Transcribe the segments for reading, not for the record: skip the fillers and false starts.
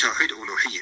Tawhid uluhiyya。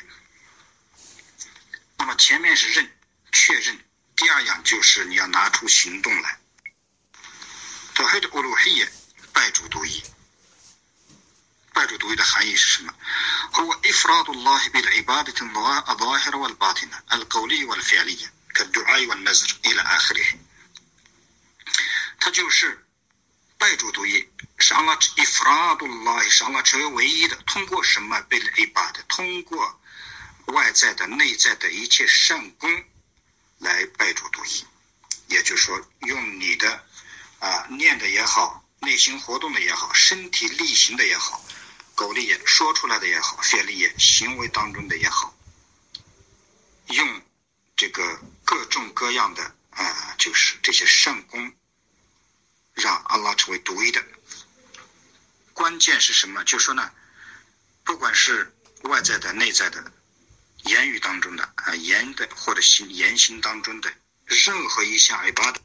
那么前面是认确认，第二样就是你要拿出行动来。Tawhid uluhiyya 拜主独一，拜主独一的含义是什么？ هو إفراد الله بالعبادة الظاهرة والباطنة القولية والفعلية كالدعاء والنذر إلى آخره。它就是拜主独一，是Allah ifradullah，是Allah成为唯一的。通过什么？bil ibad，通过外在的、内在的一切善功来拜主独一。也就是说，用你的念的也好，内心活动的也好，身体力行的也好，口里也说出来的也好，非力也行为当中的也好，用这个各种各样的就是这些善功，让阿拉成为独一的。关键是什么？就说呢，不管是外在的、内在的、言语当中的言的或者言行当中的任何一项ibadah，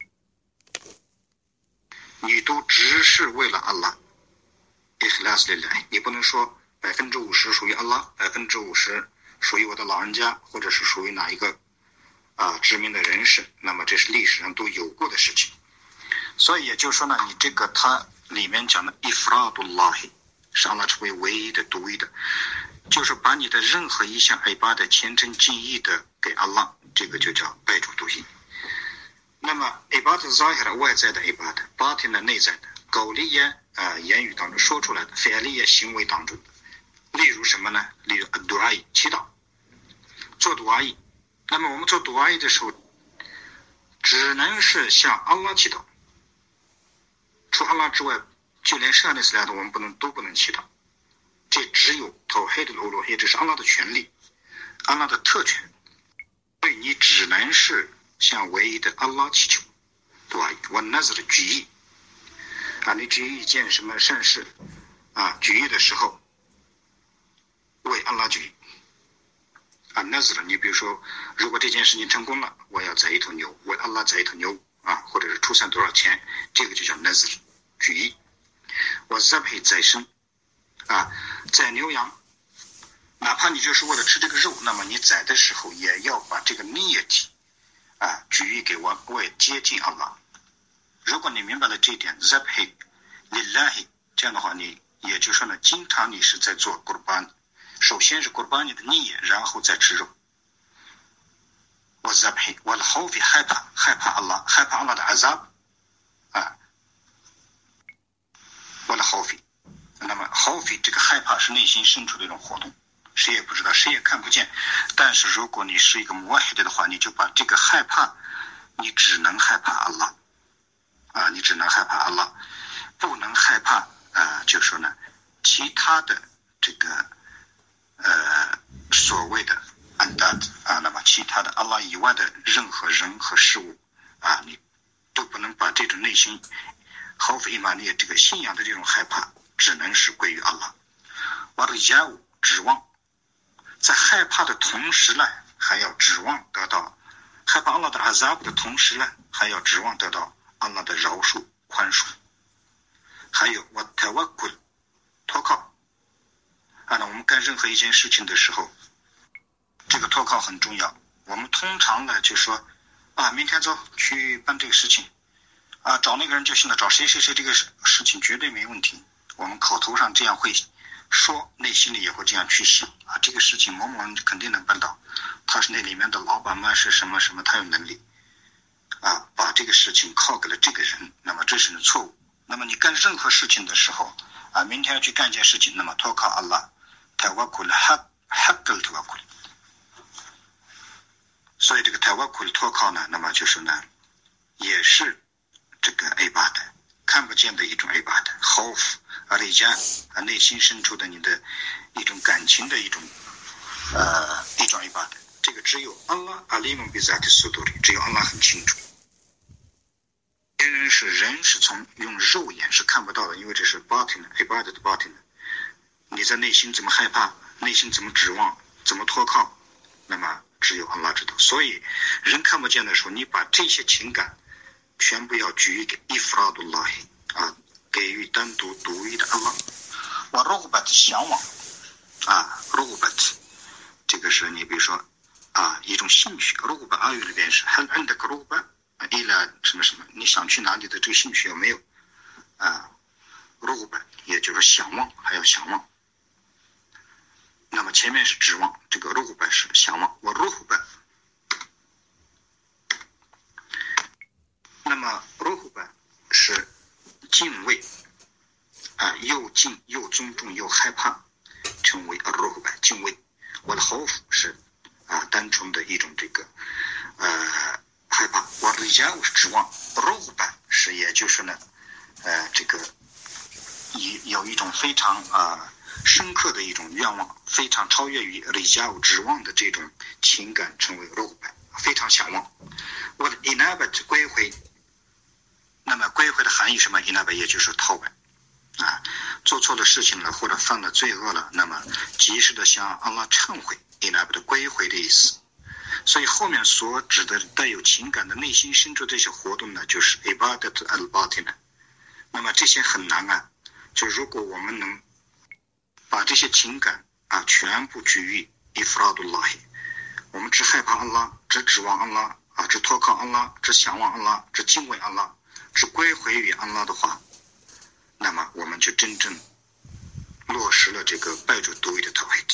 你都只是为了阿拉。ikhlas lillah， 你不能说50%属于阿拉，50%属于我的老人家，或者是属于哪一个知名的人士，那么这是历史上都有过的事情。所以也就是说呢，你这个它里面讲的 ifradullah， 是阿拉成为唯一的、独一的，就是把你的任何一项ibadah虔诚尽意的给阿拉，这个就叫拜主独一。那么 ibadah zahira 外在的 ibadah，batin 的内在的，qawliya言语当中说出来的，fi'liya行为当中的，例如什么呢？例如 ad-du'a 祈祷，做 du'a。那么我们做 du'a 的时候，只能是向阿拉祈祷，除阿拉之外，就连剩下的4样我们都不能祈祷。这只有 tawhid al-uluhiyya， 这是阿拉的权利，阿拉的特权，所以你只能是向唯一的阿拉祈求 du'a。wa nazr 举意你举意一件什么善事举意的时候，为阿拉举意nazr， 你比如说，如果这件事情成功了，我要宰一头牛，为阿拉宰一头牛或者是出散多少钱，这个就叫 nazr 举意。我 zabh 宰生宰牛羊，哪怕你就是为了吃这个肉，那么你宰的时候也要把这个 niyat 举意给我，为接近阿拉。如果你明白了这一点 zabh lillahi， 这样的话你也就是说呢，经常你是在做 qurban， 首先是 qurban 的 niyat， 然后再吃肉。我 zabh 我的 khawf 害怕阿拉，害怕阿拉的 azab 我的 khawf。 那么 khawf 这个害怕是内心深处的一种活动，谁也不知道，谁也看不见。但是如果你是一个 muwahhid 的话，你就把这个害怕，你只能害怕阿拉你只能害怕阿拉，不能害怕就说呢其他的这个所谓的andad那么其他的阿拉以外的任何人和事物你都不能把这种内心khawf imani这个信仰的这种害怕，只能是归于阿拉。warja'u 指望，在害怕的同时呢，还要指望得到害怕阿拉的 azab 的同时呢，还要指望得到阿拉的饶恕宽恕。还有我 tawakkul 托靠那我们干任何一件事情的时候，这个托靠很重要。我们通常呢就说明天走去办这个事情找那个人就行了，找谁这个事情绝对没问题。我们口头上这样会说，内心里也会这样去想这个事情某某人肯定能办到，他是那里面的老板嘛，是什么什么，他有能力把这个事情靠给了这个人，那么这是错误。那么你干任何事情的时候明天要去干一件事情，那么托靠阿拉 tawakkul haqqal tawakkul。 所以这个 tawakkul 托靠呢，那么就是呢也是这个 ibadah 看不见的一种 ibadah， khawf arija 内心深处的你的一种感情的一种ibadah， 这个只有阿拉 alimun bi zati suduri， 只有阿拉很清楚。人是从用肉眼是看不到的，因为这是 batin ibadah 的 batin， 你在内心怎么害怕，内心怎么指望，怎么托靠，那么只有阿拉知道。所以人看不见的时候，你把这些情感全部要举给 ifradullah 给予单独独一的阿拉。wa rughbat 向往rughbat 个是你比如说一种兴趣，رغبة阿语里边是هل عندك رغبة إلى什么什么，你想去哪里的这个兴趣有没有رغبة也就是想望，还要想望。那么前面是指望，这个رغبة是想望والرهبة。那么رهبة是敬畏又敬又尊重又害怕，称为الرهبة敬畏。والخوف是单纯的一种这个害怕。والرجاء是指望。رغبة是也就是呢这个有一种非常深刻的一种愿望，非常超越于رجاء指望的这种情感，称为رغبة，非常想望。والإنابة归回。那么归回的含义什么？inaba也就是逃摆做错了事情了或者犯了罪恶了，那么及时的向安拉忏悔，inaba的归回的意思。所以后面所指的带有情感的内心深处这些活动呢，就是 ibadat al-batina。 那么这些很难就如果我们能把这些情感全部居于 ifradullah， 我们只害怕安拉，只指望安拉只托靠安拉，只想望安拉，只敬畏安拉，只归回于安拉的话，那么我们就真正落实了这个拜主独一的 tawhid。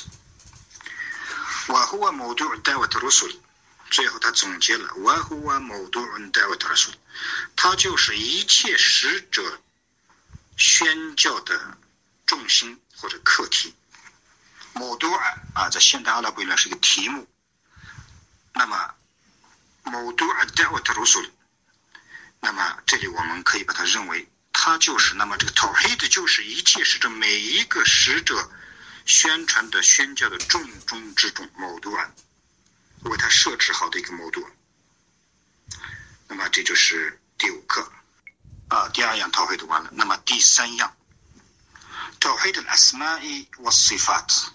وهو موضوع دعوة الرسل， 最后他总结了 وهو موضوع دعوة الرسل， 它就是一切使者宣教的重心或者课题。موضوع在现代阿拉伯语是一个题目。那么موضوع دعوة الرسل， 那么这里我们可以把它认为它就是那么这个 tawhid 就是一切使者每一个使者宣传的宣教的重中之重موضوع，为它设置好的一个موضوع。那么这就是第5课第2样 tawhid 完了。那么第3样 tawhid al-asma'i was-sifat，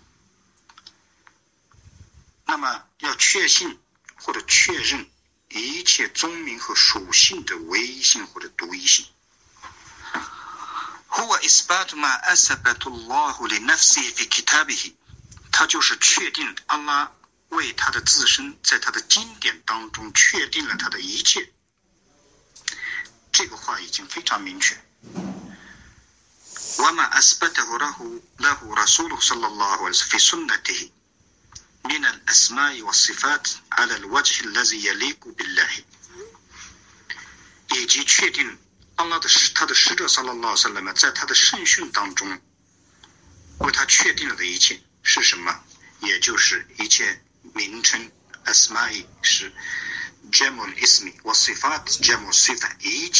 那么要确信或者确认一切宗名和属性的唯一性或者独一性。هو إثبات ما أثبت الله لنفسه في كتابه， 它就是确定安拉为他的自身在他的经典当中确定了他的一切。这个话已经非常明确。وما أثبته له رسوله صلى الله عليه وسلم في سنته من الأسماء والصفات على الوجه الذي يليق بالله， 以及确定安拉的他的使者صلى الله عليه وسلم在他的圣训当中为他确定了的一切是什么？也就是一切名称 asma'i 是 jamul ismi wa sifat jamul sifa， 一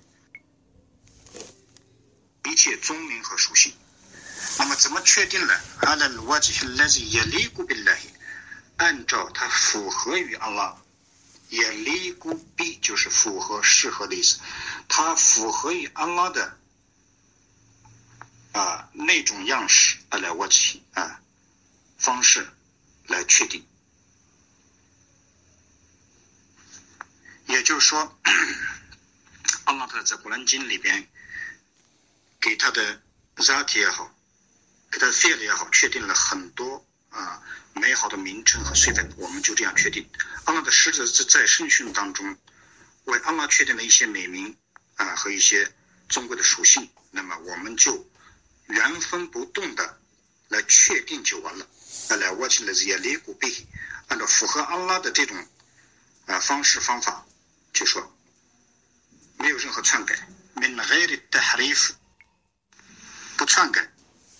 切宗名和属性。那么怎么确定了 على الوجه الذي يليق بالله， 按照它符合于安拉，يليق به 就是符合适合的意思，它符合于安拉的那种样式على وجه方式来确定。也就是说安拉在古兰经里边给他的 zati 也好，给他的 fi'l 也好，确定了很多美好的名称和岁分，我们就这样确定。安拉的使者在圣训当中为安拉确定了一些美名和一些尊贵的属性，那么我们就原封不动的来确定就完了。按照符合安拉的这种方式方法，就说没有任何篡改，不篡改，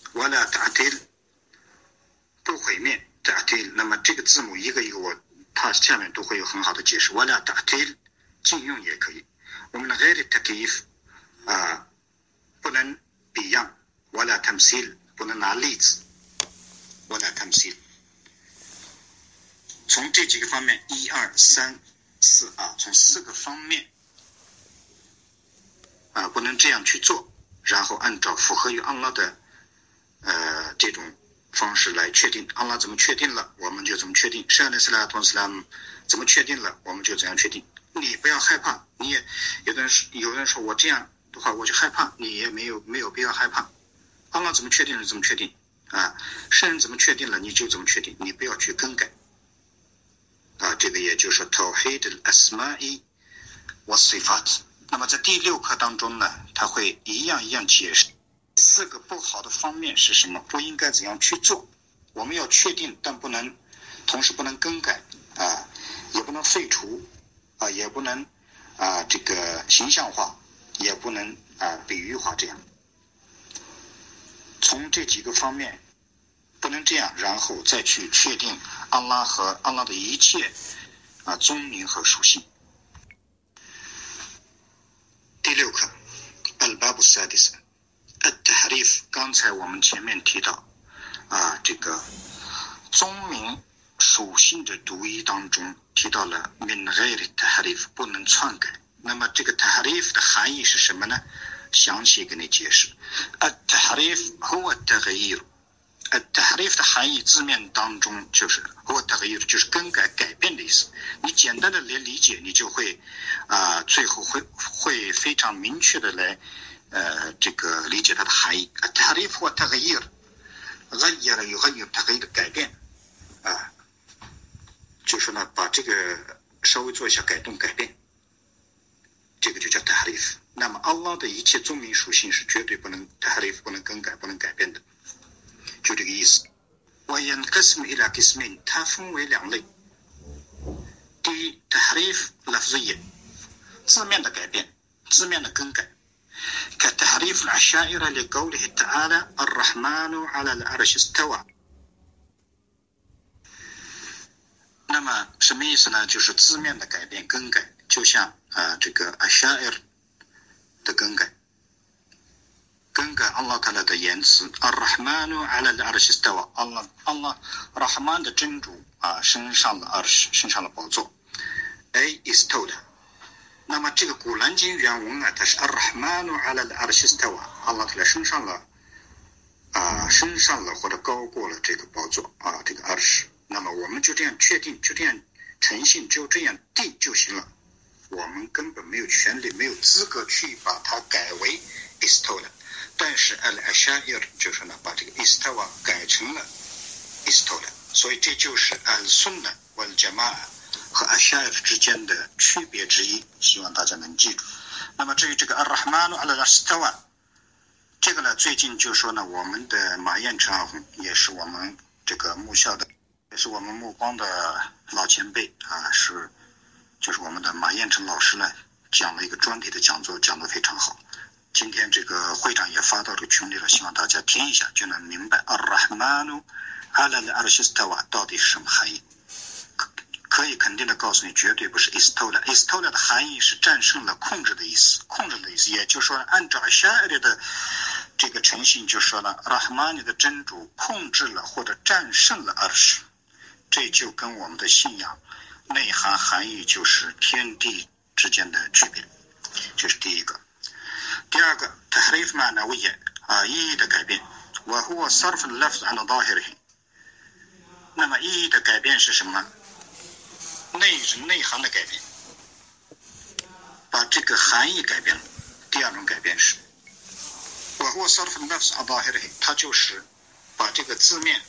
不毁灭，那么这个字母一个一个它下面都会有很好的解释。禁用也可以，我们的 غير التكييف 不能比样，不能拿例子，从这几个方面1、2、3、4从4个方面不能这样去做，然后按照符合于安拉的这种方式来确定。安拉怎么确定了，我们就怎么确定。圣安斯拉托斯拉姆怎么确定了，我们就怎样确定。你不要害怕，你也有人说我这样的话我就害怕，你也没有必要害怕。安拉怎么确定了怎么确定圣人怎么确定了你就怎么确定，你不要去更改。 这个也就是 Tawhid al-Asma'i wa Sifat。那么在第6课当中呢，他会一样解释4个不好的方面是什么，不应该怎样去做。我们要确定，但同时不能更改也不能废除也不能这个形象化，也不能比喻化，这样从这几个方面不能这样，然后再去确定安拉和安拉的一切宗名和属性。第6课 Al-Bab al-Sadis Al-Tahrif。 刚才我们前面提到这个宗名属性的读译当中提到了 Min Ghairi Tahrif， 不能篡改。那么这个 Tahrif 的含义是什么呢？详细给你解释。Al-Tahrif huwa Taghyir。 Al-Tahrif 的含义字面当中就是 huwa Taghyir， 就是更改改变的意思。你简单的理解，你就会最后会非常明确的来这个理解它的含义。Al-Tahrif huwa Taghyir， غير يغير تغيير 改变就是呢把这个稍微做一下改动改变，这个就叫 tahrif。 那么安拉的一切宗名属性是绝对不能 tahrif， 不能更改不能改变的，就这个意思。وينقسم إلى قسمين， 它分为2类。第一 tahrif لفظية， 字面的改变，字面的更改。كتحريف العشائر لقوله تعالى الرحمن على العرش استوى。 那么什么意思呢？就是字面的改变更改，就像这个 Asha'ir 的更改Allah Ta'ala 的言辞 Ar-Rahmanu ala al-Arsh istawa， Allah Rahman 的真主升上了 Arsh， 升上了宝座。istawla。 那么这个古兰经原文它是 Ar-Rahmanu ala al-Arsh istawa， Allah Ta'ala 升上了或者高过了这个宝座这个 Arsh。 那么我们就这样确定，就这样诚信，就这样定就行了。我们根本没有权利没有资格去把它改为 istawla。 但是 al-Asha'ir 就是呢把这个 istawa 改成了 istawla， 所以这就是 al-Sunnah wal-Jama'ah 和 Asha'ir 之间的区别之一，希望大家能记住。那么至于这个 Ar-Rahmanu ala al-Arsh istawa， 这个呢最近就说呢我们的马彦成也是我们这个母校的，也是我们目光的老前辈就是我们的马彦成老师呢讲了一个专题的讲座，讲得非常好。今天这个会长也发到这个群里了，希望大家听一下就能明白 Ar-Rahmanu ala al-Arsh istawa 到底是什么含义。可以肯定的告诉你，绝对不是 istawla。 istawla 的含义是战胜了，控制的意思，也就是说按照 Asha'ir 的这个诚信就说了 Rahman 的真主控制了或者战胜了 Arsh， 这就跟我们的信仰内涵含义就是天地之间的区别，这是第一个。第二个 tahrif ma'nawiyya 意义的改变 wa huwa sarf al-lafz 'an zahirihi。 那么意义的改变是什么？内涵的改变，把这个含义改变了。第二种改变是 wa huwa sarf al-lafz 'an zahirihi， 它就是把这个字面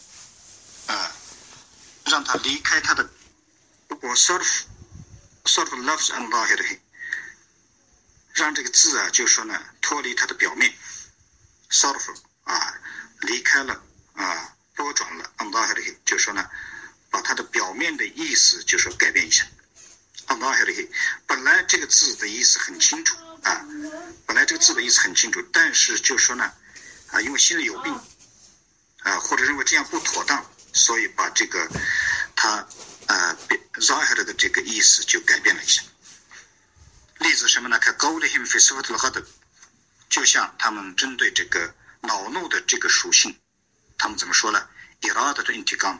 让它离开它的wa sarf al-lafz 'an zahirihi，让这个字就说呢脱离它的表面 sarf 离开了拨转了 al-zahirihi， 就说呢把它的表面的意思就说改变一下 al-zahirihi。 本来这个字的意思很清楚但是就说呢因为心里有病或者认为这样不妥当，所以把这个他zahir 的这个意思就改变了一下。例子什么呢？看 qawlihim fi sifat al-ghadab， 就像他们针对这个恼怒的这个属性，他们怎么说呢？ iradat al-intiqam，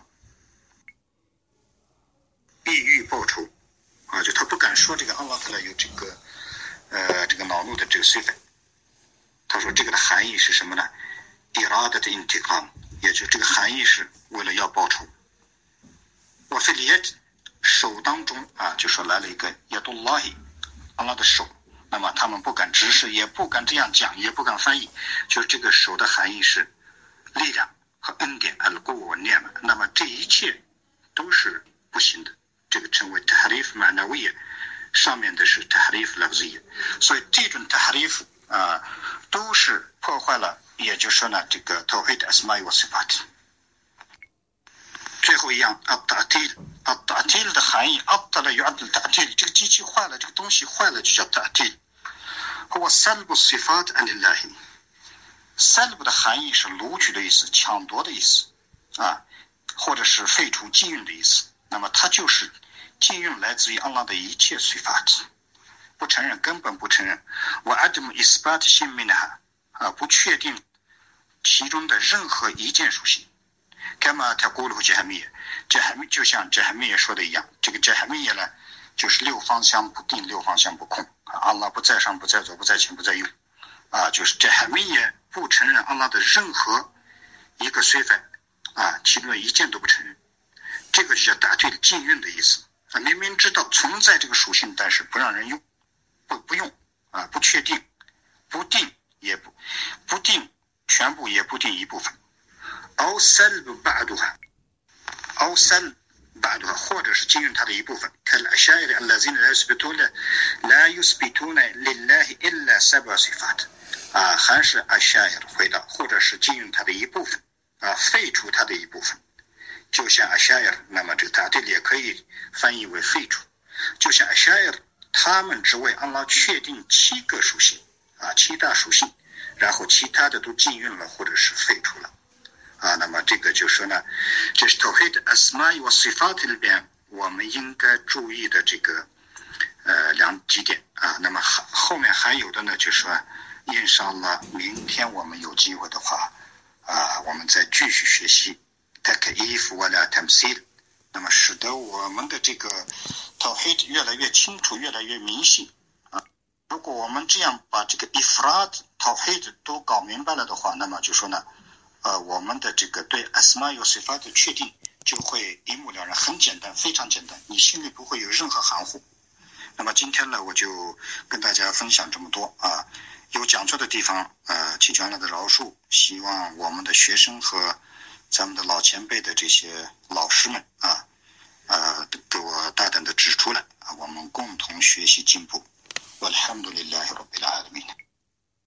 必欲报仇就他不敢说这个 Allah Ta'ala 有这个恼怒的这个sifa，他说这个的含义是什么呢？ iradat al-intiqam， 也就这个含义是为了要报仇。wa fil yad， 手当中就说来了一个 yadullahi，安拉的手，那么他们不敢直视，也不敢这样讲，也不敢翻译，就是这个手的含义是力量和恩典，al-quwwa wa ni'ma。那么这一切都是不行的， 这个称为 tahrif ma'nawiyya， 上面的是 tahrif lafziyya。所以这种 tahrif 都是破坏了，也就是说呢，这个 tawhid asma'i wa sifat。最后一样 at-ta'til 的含义 abtala yu'addal ta'til， 这个机器坏了，这个东西坏了就叫 ta'til。huwa salbu sifat an lillahi， salb 的含义是掳取的意思，抢夺的意思或者是废除禁运的意思。那么它就是禁运来自于安拉的一切 sifat， 不承认，根本不承认。wa adam isbat shay minha， 不确定其中的任何一件属性。كما تقوله جهمية， 就像 جهمية 说的一样，这个 جهمية 呢，就是六方相不定，六方相不空。安拉不在上，不在左，不在前，不在右。就是 جهمية 不承认安拉的任何一个sifa，其中的一件都不承认。这个就叫打对禁运的意思。明明知道存在这个属性，但是不让人用，不用不确定，不定也不定全部，也不定一部分。أو سلب بعضها أو سلب بعضها 或者是禁运它的一部分。كالأشاعرة الذين لا يثبتون لله إلا 7 صفات 还是 أشاعرة 回到，或者是禁运它的一部分废除它的一部分。就像 أشاعرة， 那么这个ta'til也可以翻译为废除。就像 أشاعرة 他们只为安拉确定7个属性7大属性，然后其他的都禁运了或者是废除了。那么这个就说呢，这是 Tawhid Asma'i wa Sifat 里边我们应该注意的这个几点那么后面还有的呢，就是说印上了明天我们有机会的话我们再继续学习 Tak'if wala Tamsil， 那么使得我们的这个 Tawhid 越来越清楚，越来越明细如果我们这样把这个 Ifrad Tawhid 都搞明白了的话，那么就说呢我们的这个对 Asma' wa Sifat 的确定就会一目了然，很简单，非常简单，你心里不会有任何含糊。那么今天呢，我就跟大家分享这么多有讲错的地方祈求安拉的饶恕，希望我们的学生和咱们的老前辈的这些老师们给我大胆的指出来我们共同学习进步。Walhamdulillahi Rabbil Alamin。